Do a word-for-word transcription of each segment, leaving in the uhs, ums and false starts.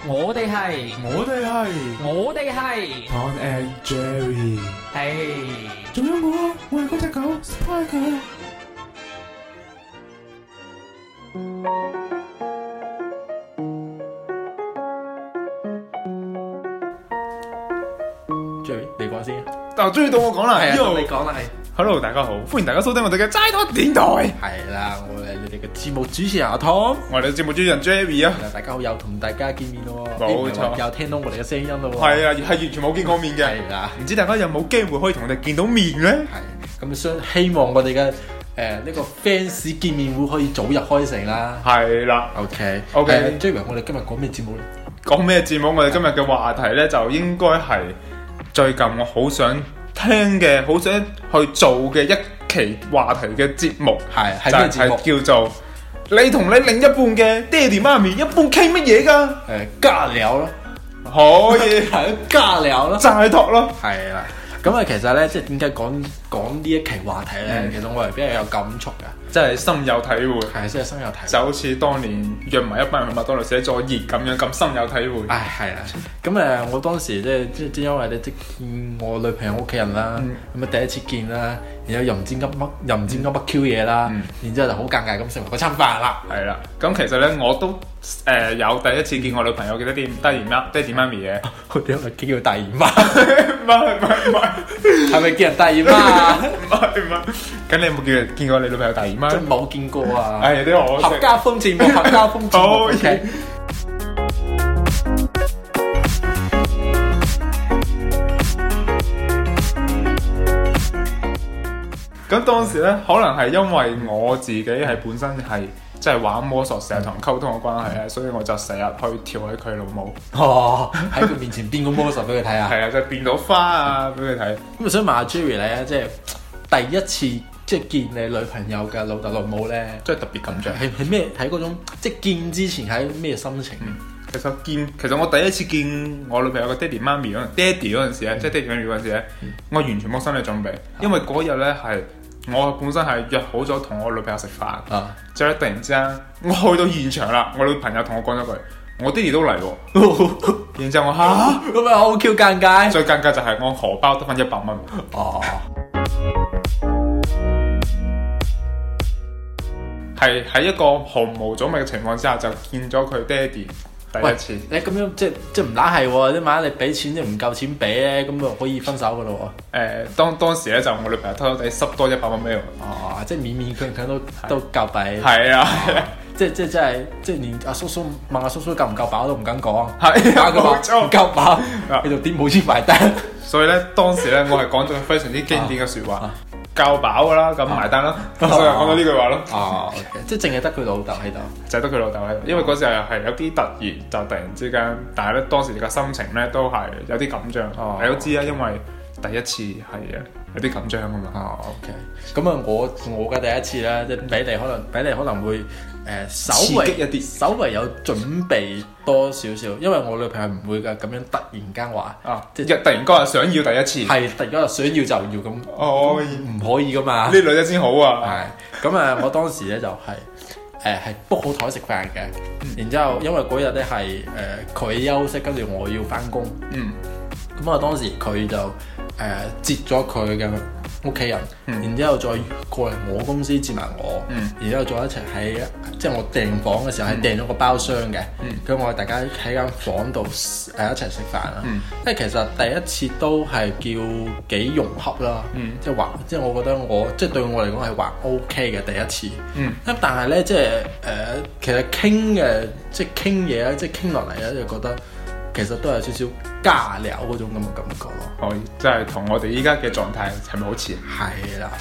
我哋係， 我哋係我哋係 Tom and Jerry， 係。 仲有我啊，我係嗰隻狗 Spider。 Jerry，你講先。 嗱，終於到我講啦， 係啊， 因為你講啦，係。 Hello，大家好，歡迎大家收聽我哋嘅齋拖電台。 係啦，我係你哋嘅節目主持人阿 Tom。 我哋嘅節目主持人 Jerry 啊， 大家好，又同大家見面咯。 冇錯， 又聽到我哋嘅聲音咯。 係啊，係完全冇見過面嘅。 係啦， 唔知大家有冇機會可以同我哋見到面咧？ 係咁，希希望我哋嘅誒呢個 fans 見面會可以早日開成啦。 係啦 ，OK OK。 Jerry，我哋今日講咩節目咧？ 講咩節目？我哋今日嘅話題咧，就應該係最近我好想聽嘅、好想去做嘅一期話題嘅節目， 係係咩節目？ 就係叫做你同你另一半嘅爹哋媽咪一般傾乜嘢㗎？ 誒尬聊咯， 可以係尬聊咯， 齋托咯， 係啦。咁啊，其實咧，即係點解講講呢一期話題咧？其實我係比較有感觸嘅， 真係深有體會。 係真係深有體會， 就好似當年約埋一班人去麥當勞寫作業咁樣，咁深有體會。 唉，係啦。咁誒，我當時即係即即因為咧，即見我女朋友屋企人啦，咁啊第一次見啦，然後又唔知噏乜，又唔知噏乜 Q 嘢啦，然之後就好尷尬咁食埋嗰餐飯啦。 係啦，咁其實咧我都誒有第一次見我女朋友嘅爹哋爹哋媽爹哋媽咪嘅， 我點解叫佢大姨媽？ 唔係唔係唔係， 係咪叫人大姨媽？ 唔係唔係，咁你有冇見見過你女朋友大姨媽？ 真冇見過啊！ 係啲可惜。 合家歡節目，合家歡節目。OK。 咁當時咧，可能係因為我自己係本身係即係玩魔術，成日同人溝通嘅關係咧，所以我就成日去調起佢老母。 哦，喺佢面前變個魔術俾佢睇啊！ 係啊，就變到花啊俾佢睇。 咁我想問下 Jerry 咧，即係第一次即係見你女朋友嘅老豆老母咧， 即係特別感動。 係係咩？喺嗰種即係見之前係咩心情？ 嗯其實見，其實我第一次見我女朋友嘅爹哋媽咪嗰陣，爹哋嗰陣時咧，即係爹哋媽咪嗰陣時咧，我完全冇心理準備，因為嗰日咧係我本身係約好咗同我女朋友食飯， 啊， 之後突然之間我去到現場啦，我女朋友同我講咗句，我爹哋都嚟喎，然之後我嚇， 咁咪好 Q 尷尬， 最尷尬就係我荷包得返一百蚊， 哦， 係喺一個毫無準備嘅情況之下就見咗佢爹哋。第一次， 你咁樣即即唔乸係喎，啲萬一你俾錢即唔夠錢俾咧，咁就可以分手噶咯喎。 誒，當當時咧就我女朋友偷偷地塞多一百蚊俾我。 哦，即勉勉強強都都夠俾。 係啊， 即即即係即連阿叔叔問阿叔叔夠唔夠飽都唔敢講。 係啊， 冇錯，唔夠飽，你就點冇錢埋單。 所以咧，當時咧我係講咗非常之經典嘅説話。夠飽噶啦，咁埋單啦，所以講到呢句話咯。 哦，即係淨係得佢老豆喺度， 就係得佢老豆喺度，因為嗰時係係有啲突然，就突然之間，但係咧當時嘅心情咧都係有啲緊張。哦，你都知啦，因為第一次係啊有啲緊張啊嘛。 哦 OK，咁啊我我嘅第一次咧，即係比你可能比你可能會。誒、呃、稍微一啲， 稍微有準備多少少，因為我女朋友唔會㗎，咁樣突然間話啊，即係突然間話想要第一次， 係突然間話想要就要咁， 哦， 唔可以㗎嘛？ 呢女仔先好啊， 係咁啊！我當時咧就係誒係 book 好台食飯嘅，嗯、然之後因為嗰日咧係誒佢休息，跟住我要翻工，嗯，咁啊當時佢就誒、呃、接咗佢嘅屋企人，嗯、然之後再過嚟我公司接埋我，嗯、然之後再一齊喺即係我訂房嘅時候係訂咗個包廂嘅，咁、嗯、我哋大家喺間房度誒一齊食飯啦。嗯、因為其實第一次都係叫幾融洽啦，嗯、即係話即係我覺得我即係對我嚟講係還 OK 嘅第一次。咁、嗯、但係咧即係誒、呃、其實傾嘅即係傾嘢咧，即係傾落嚟咧就覺得。其實都有少少尬聊嗰種咁嘅感覺咯， 可以，即係同我哋依家嘅狀態係咪好似？ 係啦。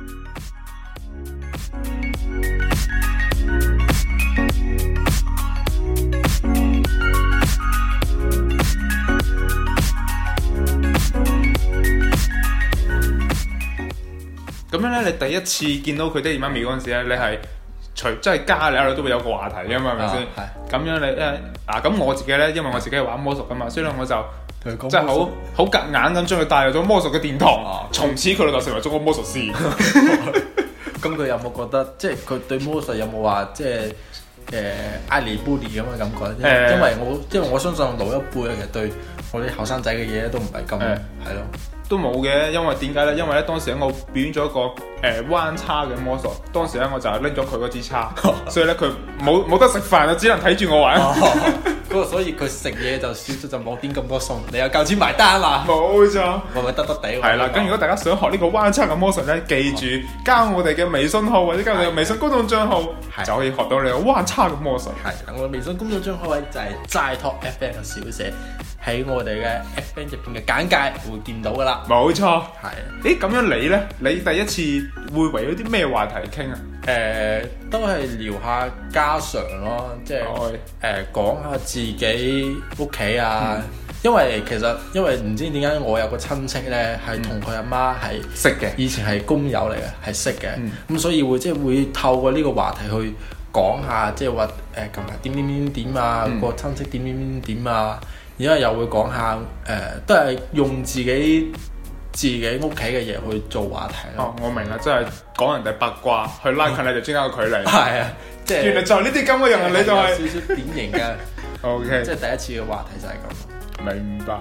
咁樣咧，你第一次見到佢爹哋媽咪嗰陣時咧，你係除即係加你，你都會有個話題噶嘛，係咪先？咁樣你誒嗱，咁我自己咧，因為我自己係玩魔術噶嘛，所以咧我就即係好好夾硬咁將佢帶入咗魔術嘅殿堂，從此佢就成為咗個魔術師。 咁佢有冇覺得，即係佢對魔術有冇話即係誒愛理不理咁嘅感覺，欸、因為我因為我相信老一輩其實對我啲後生仔嘅嘢都唔係咁係咯。 都冇嘅，因為點解咧？因為咧當時咧我表演咗一個誒、呃、彎叉嘅魔術，當時咧我就係拎咗佢嗰支叉，所以咧佢冇冇得食飯啊，只能睇住我玩。 嗰個所以佢食嘢就少少就冇點咁多餸，你又夠錢埋單啦。 冇錯， 係咪得得地？ 係啦，咁如果大家想學呢個彎叉嘅魔術咧，記住加我哋嘅微信號或者加我哋嘅微信公眾帳號，就可以學到你個彎叉嘅魔術。 係，我嘅微信公眾帳號位就係齋 talk F M 嘅小寫，喺我哋嘅 F M 入邊嘅簡介會見到噶啦。 冇錯， 係。 誒咁樣你咧，你第一次會圍咗啲咩話題傾啊？ 誒、呃，都係聊下家常咯，即係誒講下自己屋企啊。嗯、因為其實因為唔知點解我有個親戚咧，係同佢阿媽係識嘅， 以前係工友嚟嘅，係識嘅。咁、嗯、所以會即係會透過呢個話題去講下，即係話誒近排點點點點啊，嗯、個親戚點點點點啊。然之後又會講下誒、呃，都係用自己自己屋企嘅嘢去做話題咯。 哦，我明啦，即係講人哋八卦，去拉近你哋之間嘅距離。 係啊，即係原來就係呢啲咁嘅人，你就係、是、 少少典型嘅。 O K， 即係第一次嘅話題就係咁。 明白。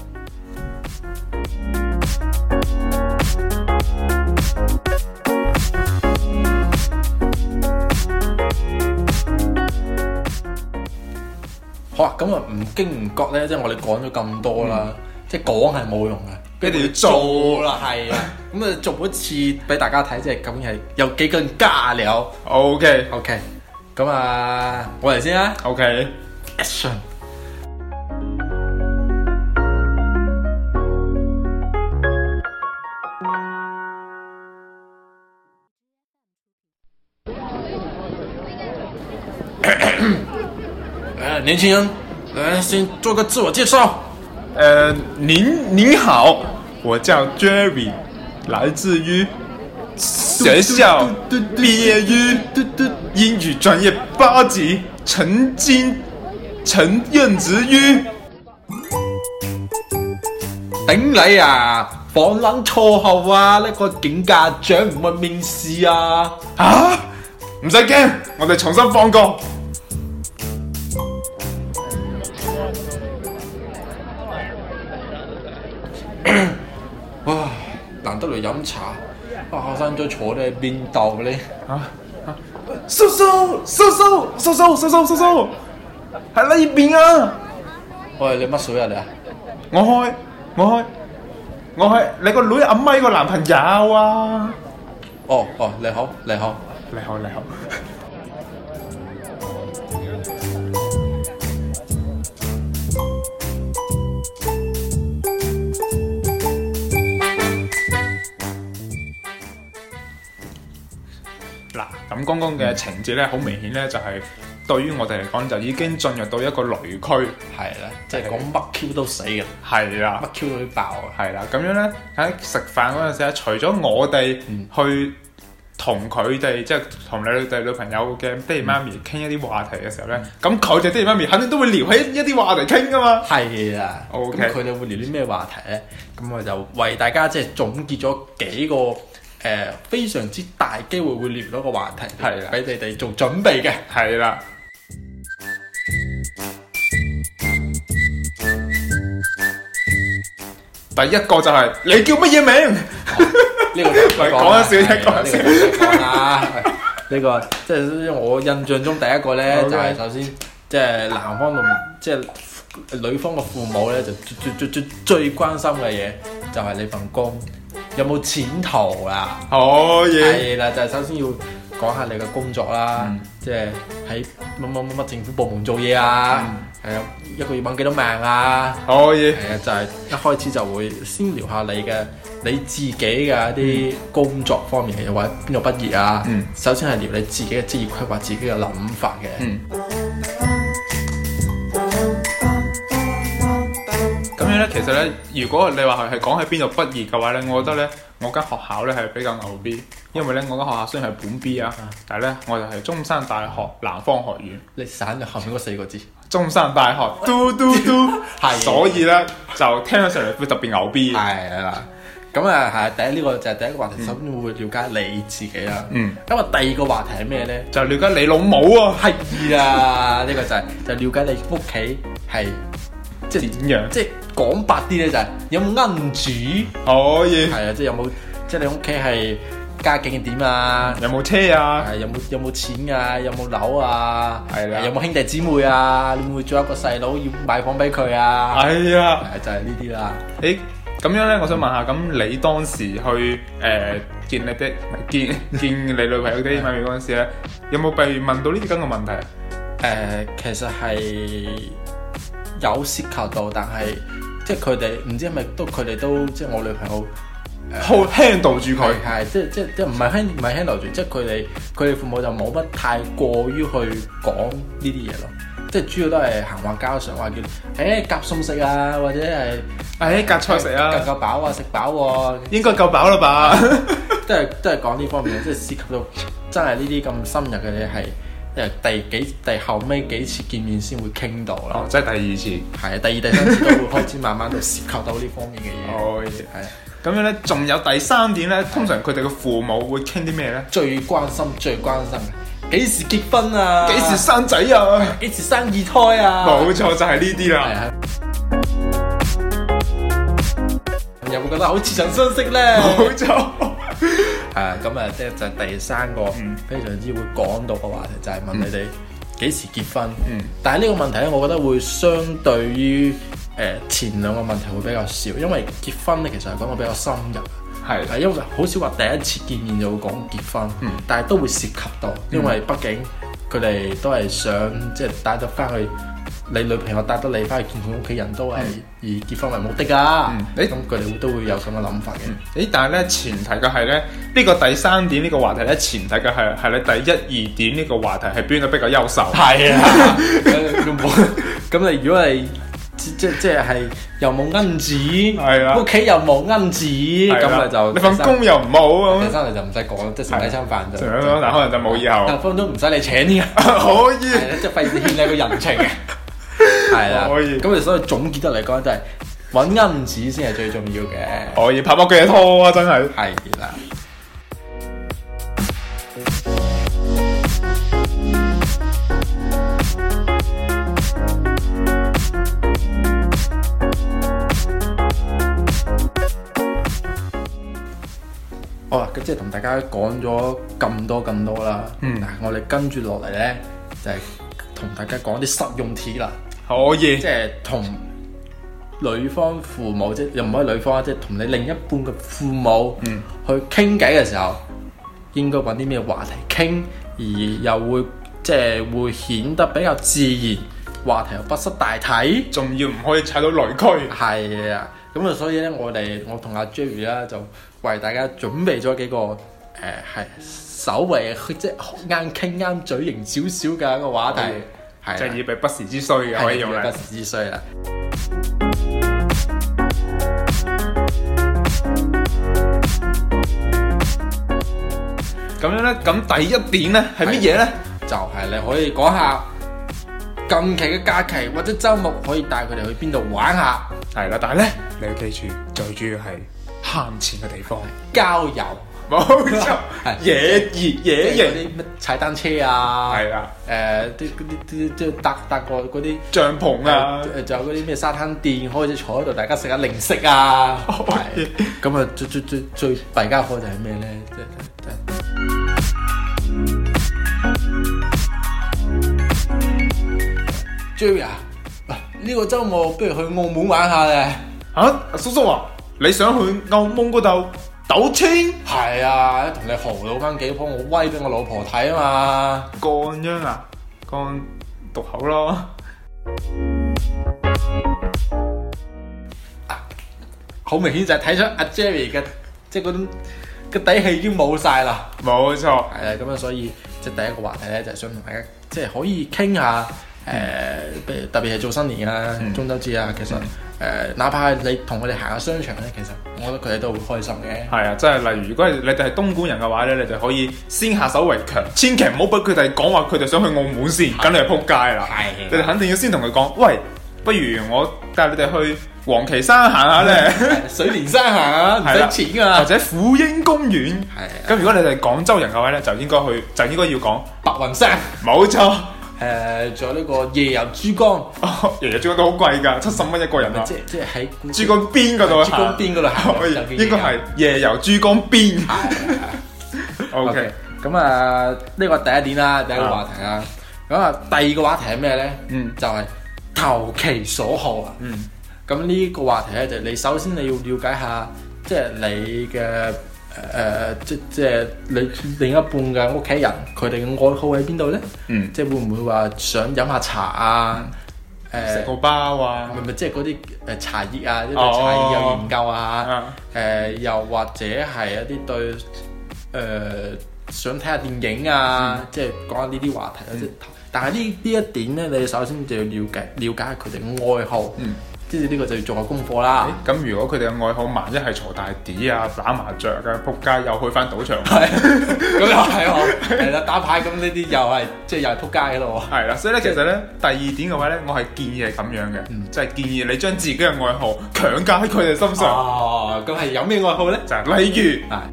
好啊，咁啊唔經唔覺咧，即係我哋講咗咁多啦，嗯、即係講係冇用嘅，一定要做啦，係啊，咁啊做一次俾大家睇，即係咁係有幾個人加料。 OK OK，咁啊，我嚟先啦。OK，Action。年輕人，來先做個自我介紹。 呃，您您好，我叫 Jerry， 來自於學校畢業於英語專業八級，曾經曾任職於。 頂你啊！放撚錯後啊！呢、這個警家長唔會面試啊！ 啊！唔使驚，我哋重新放過。 哇！難得嚟飲茶，啊後生仔坐喺邊度咧？啊啊！叔叔叔叔叔叔叔叔叔叔，喺呢邊啊！ 喂，你乜水啊你啊？ 我開我開我係你個女阿咪個男朋友啊！ 哦哦，你好你好你好你好。嗱，咁剛剛嘅情節咧，好明顯咧，就係對於我哋嚟講，就已經進入到一個雷區， 係啦，即係講乜 Q 都死嘅， 係啦， 乜 Q 都爆啊， 係啦，咁樣咧喺食飯嗰陣時咧，除咗我哋去同佢哋，即係同你哋女朋友嘅爹哋媽咪傾一啲話題嘅時候咧，咁佢哋爹哋媽咪肯定都會聊起一啲話題傾噶嘛， 係啦 ，OK， 咁佢哋會聊啲咩話題咧？咁我就為大家即係總結咗幾個。誒、呃、非常之大機會會聊到個話題，係啦，俾你哋做準備嘅， 係啦。第一個就係、是、你叫乜嘢名？呢、 哦這個就講一笑啫，講一笑啦。呢個即係我印象中第一個咧，okay. 就係首先即係男方同即係女方嘅父母咧，就最最最最關心嘅嘢就係你份工。有冇前途啦？ 可以係啦，就係、是、首先要講下你嘅工作啦，嗯、即係喺乜乜乜乜政府部門做嘢啊，係啊、嗯，一個月揾幾多萬啊？ 可以係啊，就係、是、一開始就會先聊下你嘅你自己嘅一啲工作方面嘅，又或者邊度畢業啊？嗯、首先係聊你自己嘅職業規劃、自己嘅諗法嘅。嗯咁樣咧，其實咧，如果你話係係講喺邊度畢業嘅話咧，我覺得咧，我間學校咧係比較牛逼，因為咧我間學校雖然係本 B 啊，但係咧我就係中山大學南方學院。 你省咗後面嗰四個字， 中山大學嘟嘟嘟，係，所以咧就聽咗上嚟會特別牛逼。 係啦， 咁啊係第一呢個就係第一個話題，首先會了解你自己啦。 嗯。 咁啊第二個話題係咩咧？ 就了解你老母啊！ 係啊，呢個就係就了解你屋企係即係點樣？ 即係講白啲咧，就係有冇恩主？ 可以。 係啊，即係有冇即係你屋企係家境點啊？ 有冇車啊？ 係有冇有冇錢啊？有冇樓啊？ 係啦。 有冇兄弟姊妹啊？你會唔會仲有一個細佬要買房俾佢啊？ 係啊。 係就係呢啲啦。 誒咁樣咧，我想問下，咁你當時去誒、呃、見你的見見你女朋友啲媽咪嗰陣時咧，有冇被問到呢啲咁嘅問題啊？ 誒、呃，其實係有涉及到，但係即係佢哋唔知係咪都佢哋都即係我女朋友好 handle 住佢， 係即係即係即係唔係 hand 唔係 handle 住，即係佢哋佢哋父母就冇乜太過於去講呢啲嘢咯，即係主要都係閒話家常，話叫誒夾餸食啊，或者係誒夾菜食啊， 夠夠飽啊，食飽喎， 應該夠飽啦吧？ 都係都係講呢方面，即係涉及到真係呢啲咁深入嘅嘢係。誒第幾第後尾幾次見面先會傾到啦， 哦，即係第二次， 係啊，第二第三次都會開始慢慢就涉及到呢方面嘅嘢。 哦， 係啊， 咁樣咧，仲有第三點咧，通常佢哋嘅父母會傾啲咩咧？ 最關心最關心嘅，幾時結婚啊？ 幾時生仔啊？ 幾時生二胎啊？ 冇錯，就係呢啲啦。 係啊。有冇覺得好似曾相識咧？ 冇錯。 係啊，咁啊，即係就係第三個非常之會講到嘅話題，就係問你哋幾時結婚。 嗯， 但係呢個問題咧，我覺得會相對於誒前兩個問題會比較少，因為結婚咧其實係講得比較深入。 係係因為好少話第一次見面就會講結婚，嗯、但係都會涉及到，因為畢竟佢哋都係想即係帶得翻去。你女朋友帶得你翻去見佢屋企人都係以結婚為目的㗎，咁佢哋都會有咁嘅諗法嘅。 誒，但係咧前提嘅係咧，呢、呢個第三點呢個話題咧，前提嘅係係你第一二點呢個話題係邊度比較優秀？ 係啊，咁你如果係即即即係又冇恩子，係啊，屋企又冇恩子，咁咪就你份工又唔好咁， 第三你就唔使講，即係食第餐飯就， 但可能就冇以後， 但分都唔使你請添， 可以， 即係費事欠你個人情嘅。係啦，可以。咁你所以總結得嚟講，就係揾恩子先係最重要嘅。 可以拍波幾拖啊！真係。 係啦。好啦，咁即係同大家講咗咁多咁多啦。嗯。嗱，我哋跟住落嚟咧，就係同大家講啲實用題啦。 可以， 即係同女方父母，即係又唔可以女方，即係同你另一半嘅父母，嗯，去傾偈嘅時候，應該揾啲咩話題傾，而又會即係會顯得比較自然，話題又不失大體， 仲要唔可以踩到雷區。 係啊，咁啊，所以咧，我哋我同阿 Jerry 啦，就為大家準備咗幾個誒係稍微即係啱傾啱嘴型少少嘅一個話題。 就係以備不時之需嘅，可以用嚟。 不時之需啦。 咁樣咧，咁第一點咧係乜嘢咧？ 就係你可以講下近期嘅假期或者週末可以帶佢哋去邊度玩下。 係啦，但係咧你要記住，最主要係慳錢嘅地方， 郊遊。 冇錯，野熱野營啲乜踩單車啊，係啊，誒啲嗰啲啲即係搭搭個嗰啲帳篷啊， 誒仲有嗰啲咩沙灘墊，可以坐喺度大家食下零食啊，係咁啊最最最最弊家伙就係咩咧？即係 Jerry 啊，呢個週末不如去澳門玩下咧嚇！叔叔啊，你想去澳門嗰度？賭錢係啊，同你豪賭翻幾鋪，我威俾我老婆睇啊嘛！ 乾秧啊，乾毒口咯。 啊，好明顯就係睇出阿 Jerry 嘅即係嗰種嘅底氣已經冇晒啦。 冇錯，係啊，咁樣所以即係第一個話題咧，就係想同大家即係可以傾下誒，嗯、特別係做新年啊、嗯、中秋節啊，其實誒、嗯呃，哪怕係你同佢哋行下商場咧，其實我覺得佢哋都會開心嘅。係啊，即係例如，如果你哋係東莞人嘅話咧，你就可以先下手為強，千祈唔好俾佢哋講話佢哋想去澳門先，咁你就撲街啦。係，你哋肯定要先同佢講，喂，不如我帶你哋去黃岐山行下咧， 水蓮山行啊，唔使錢㗎， 或者虎英公園。 係。 咁如果你哋廣州人嘅話咧，就應該去，就應該要講白雲山。 冇錯。 誒，仲有呢個夜遊珠江。 哦，夜遊珠江都好貴㗎，七十蚊一個人啊！ 即即係喺珠江邊嗰度珠江邊嗰度行， 可以應該係夜遊珠江邊。OK， 咁啊，呢個第一點啦，第一個話題啦。咁啊，第二個話題係咩咧？嗯，就係投其所好啊。嗯，咁呢個話題咧，就你首先你要了解下，即係你嘅誒、呃，即即係你另一半嘅屋企人，佢哋嘅愛好喺邊度咧？嗯，即係會唔會話想飲下茶啊？誒， 食個包啊？ 唔係唔係，即係嗰啲誒茶葉啊，對茶葉有研究啊？誒、哦呃，又或者係一啲對誒、呃、想睇下電影啊，嗯、即係講下呢啲話題啊，即係、嗯。但係呢呢一點咧，你首先就要了解了解下佢哋嘅愛好，嗯，即係呢個就要做下功課啦。 咁如果佢哋嘅愛好萬一係坐大碟啊、打麻雀嘅，仆街又去翻賭場， 係咁又係喎，係啦，打牌咁呢啲又係即係又係仆街嘅咯喎。 係啦，所以咧其實咧第二點嘅話咧，我係建議係咁樣嘅，嗯、就係建議你將自己嘅愛好強加喺佢哋身上。 哦，咁係有咩愛好咧？ 就係例如。啊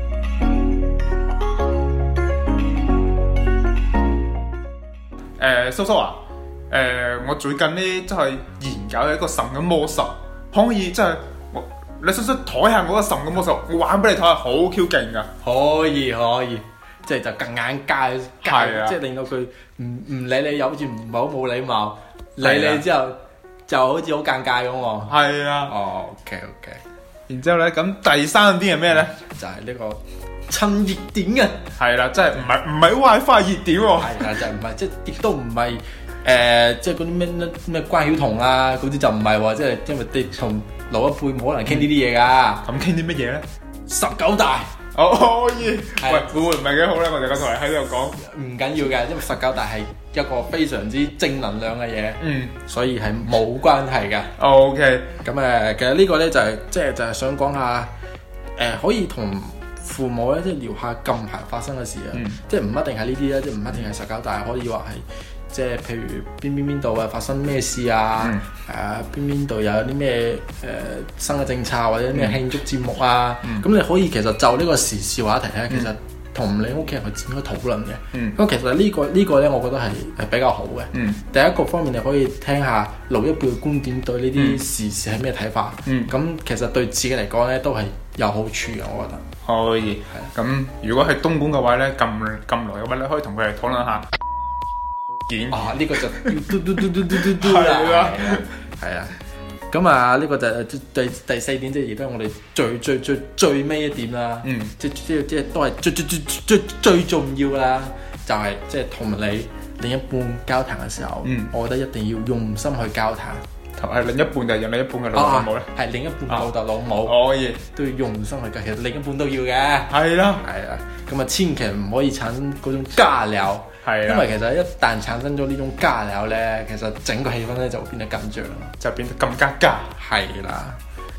誒、呃，叔叔啊，誒、呃，我最近呢，即係研究一個神嘅魔術，可唔可以即係我你叔叔睇下我個神嘅魔術，我玩俾你睇下，好 Q 勁噶。 可以可以，即係就更眼界，即係令到佢唔唔理你，又好似唔係好冇禮貌，理你之後就好似好尷尬咁喎。係啊。哦 ，OK OK。 然之後咧，咁第三點係咩咧？ 就係呢、這個。趁熱點嘅， 係啦，即係唔係唔係 WiFi 熱點喎， 係啦，就唔係，即係亦都唔係誒，即係嗰啲咩咩關曉彤啊，嗰啲就唔係喎，即係因為你同老一輩冇可能傾呢啲嘢噶， 咁傾啲乜嘢咧？ 十九大， 哦可以，喂會唔會唔係幾好咧？我哋個台喺度講， 唔緊要嘅，因為十九大係一個非常之正能量嘅嘢，嗯，所以係冇關係嘅。 OK， 咁誒，其實呢個咧就係即係就係想講下誒，可以同父母咧，即係聊下近排發生嘅事啊，嗯、即係唔一定係呢啲啦，即係唔一定係十九大，可以話係即係譬如邊邊邊度啊發生咩事啊，誒邊邊度有啲咩誒新嘅政策或者咩慶祝節目啊，咁、嗯、你可以其實就呢個時事話題咧，嗯、其實同你屋企人去展開討論嘅。咁、嗯、其實、這個這個、呢個呢個咧，我覺得係係比較好嘅。嗯、第一個方面你可以聽下老一輩嘅觀點對呢啲時事係咩睇法，咁、嗯、其實對自己嚟講咧都係有好處嘅，我覺得。 可以，咁的如果係東莞嘅話咧，咁咁耐嘅話，你可以同佢哋討論下件。 啊，呢、這個就嘟嘟嘟嘟嘟嘟嘟啦，係啊，咁啊呢個就係第第四點，即係亦都係我哋最最最最尾一點啦。嗯，即即即係都係最最最最最重要啦，就係即係同你另一半交談嘅時候，嗯，我覺得一定要用心去交談。 係另一半定係另一半嘅老母咧？ 係另一半老豆老母， 可以都要用心去交。其實另一半都要嘅。係啦， 係啊。咁啊，千祈唔可以產生嗰種尬聊。係啊。因為其實一旦產生咗呢種尬聊咧，其實整個氣氛咧就會變得緊張， 就變得更加尬。 係啦。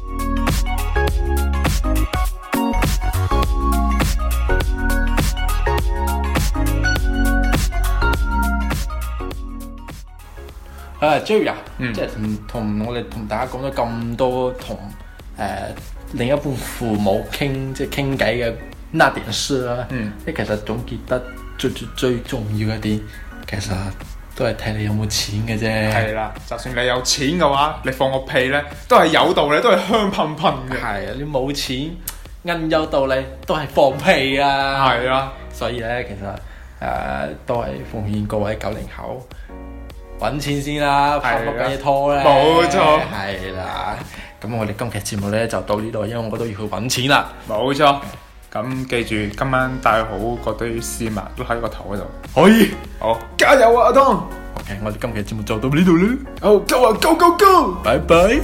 啊 Jerry 啊，嗯、即係同同我哋同大家講咗咁多同誒、呃、另一半父母傾即係傾偈嘅那點事啦，即係、嗯、其實總結得最最最重要一啲，其實都係睇你有冇錢嘅啫。 係啦，就算你有錢嘅話，你放個屁咧都係有道理，都係香噴噴嘅。 係啊，你冇錢，硬有道理都係放屁啊。係啊，所以咧其實誒、呃、都係奉勸各位九零後。揾錢先啦，拍乜鬼嘢拖咧？ 冇錯， 係啦。咁我哋今期節目咧就到呢度，因為我都要去揾錢啦。 冇錯。咁記住今晚帶好嗰堆絲襪都喺個頭嗰度。 可以。 好，加油啊，阿湯 ！OK，我哋今期節目就到呢度啦。 好，Go 啊，Go Go Go！ 拜拜。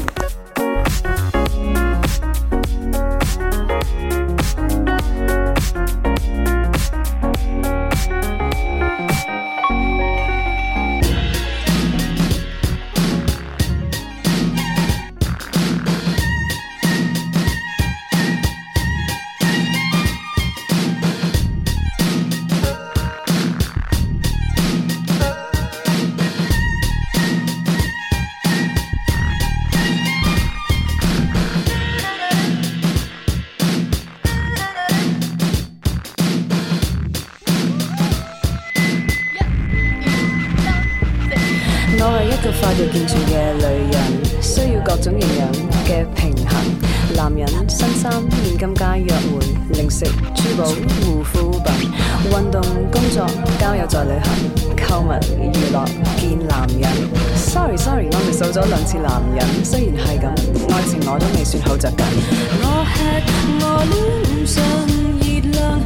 我係一個發育健全嘅女人，需要各種營養嘅平衡。男人新衫、現金加約會、零食、珠寶、護膚品、運動、工作、交友再旅行、購物、娛樂、見男人。Sorry Sorry， 我哋數咗兩次男人，雖然係咁，愛情我都未算好着緊。我吃我臉上熱量。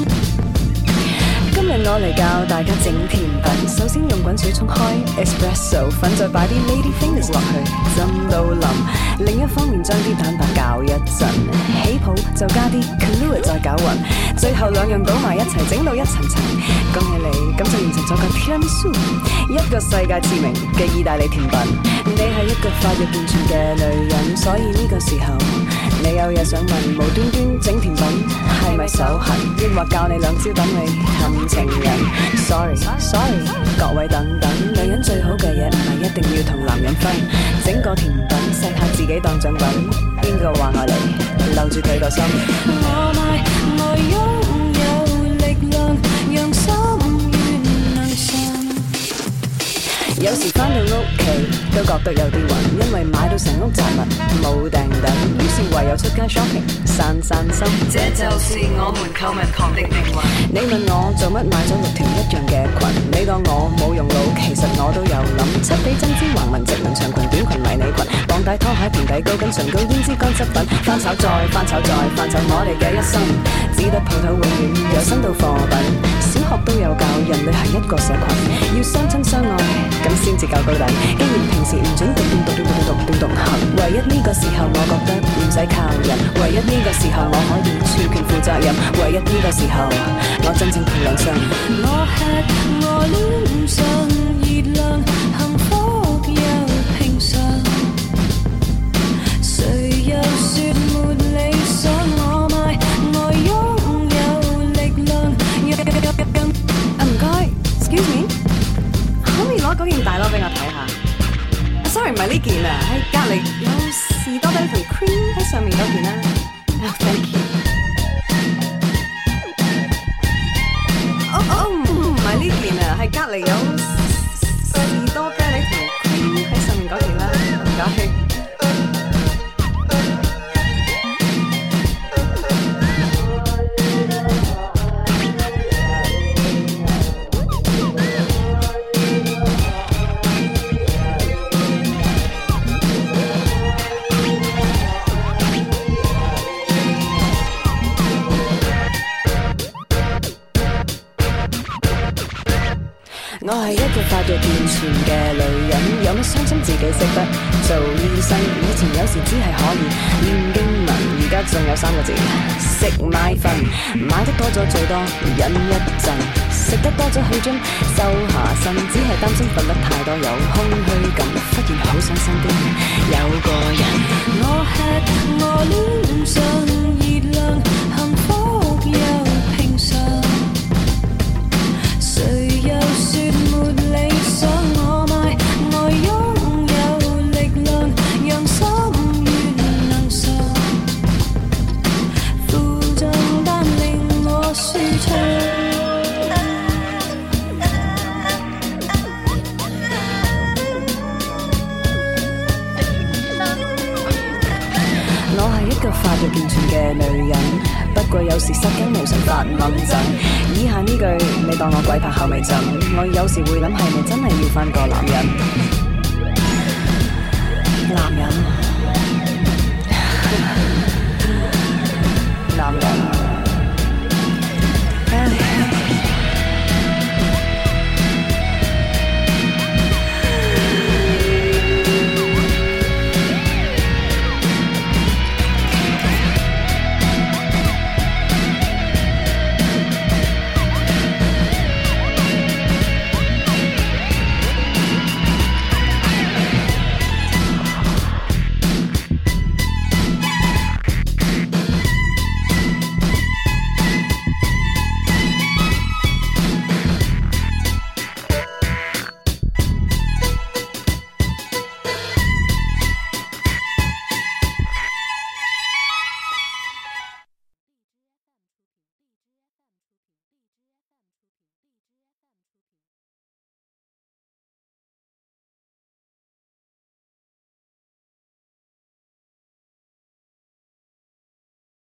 今日我嚟教大家整甜品，首先用滾水沖開 espresso 粉，再擺啲 lady fingers 落去，浸到腍。另一方面將啲蛋白攪一陣，起泡就加啲 Kahlua 再攪勻，最後兩樣倒埋一齊，整到一層層。恭喜你，咁就完成咗個 tiramisu， 一個世界知名嘅意大利甜品。你係一個發育健全嘅女人，所以呢個時候你有嘢想問，無端端整甜品係咪手痕？抑或教你兩招等你氹情人 ？Sorry Sorry， 各位等等，女人最好嘅嘢唔係一定要同男人分，整個甜品食下自己當獎品，邊個話我嚟留住佢個心？我買我擁有力量，讓心願能信。有時返到屋企都覺得有啲暈，因為買到成屋雜物冇訂等，於是唯有出街 shopping 散散心。這就是我們購物狂的命運。你問我做乜買咗六條一樣嘅裙？你當我冇用腦，其實我都有諗。七比針織橫紋直紋長裙短裙迷你裙，綁帶拖鞋平底高跟唇膏胭脂乾濕粉，翻炒再翻炒再翻炒我哋嘅一生，只得鋪頭永遠有新到貨品。小學都有教人類係一個社群，要相親相愛咁先至夠到底。既然平時唔准獨斷獨斷獨斷獨斷獨行，唯一呢個時候我覺得唔使靠人，唯一呢個時候我可以全權負責任，唯一呢個時候我真正憑良心。我吃我臉上熱量，幸福又平常，誰又說沒理想？我買我擁有力量。啊唔該 ，excuse me， 可唔可以攞嗰件大褸俾我睇下 ？Sorry， 唔係呢件啊，喺隔離有士多啤梨同 cream 喺上面嗰件啦。啊 ，thank you。哦哦，唔係呢件啊，係隔離有士多啤梨同 cream 喺上面嗰件啦。唔該。我係一個發育健全嘅女人，有乜傷心自己識得做醫生。以前有時只係可以念經文，而家仲有三個字：食買瞓。買得多咗最多忍一陣，食得多咗去 gym 收下身，只係擔心瞓得太多有空虛感，忽然好想身邊有個人。我吃我臉上熱量，幸福又平常。誰又說沒理想？我買我擁有力量，讓心願能常，負重但令我舒暢。我係一個發育健全嘅女人，不過有時失驚無神發猛震。以下呢句你當我鬼拍後尾枕，我有時會諗係咪真係要返個男人。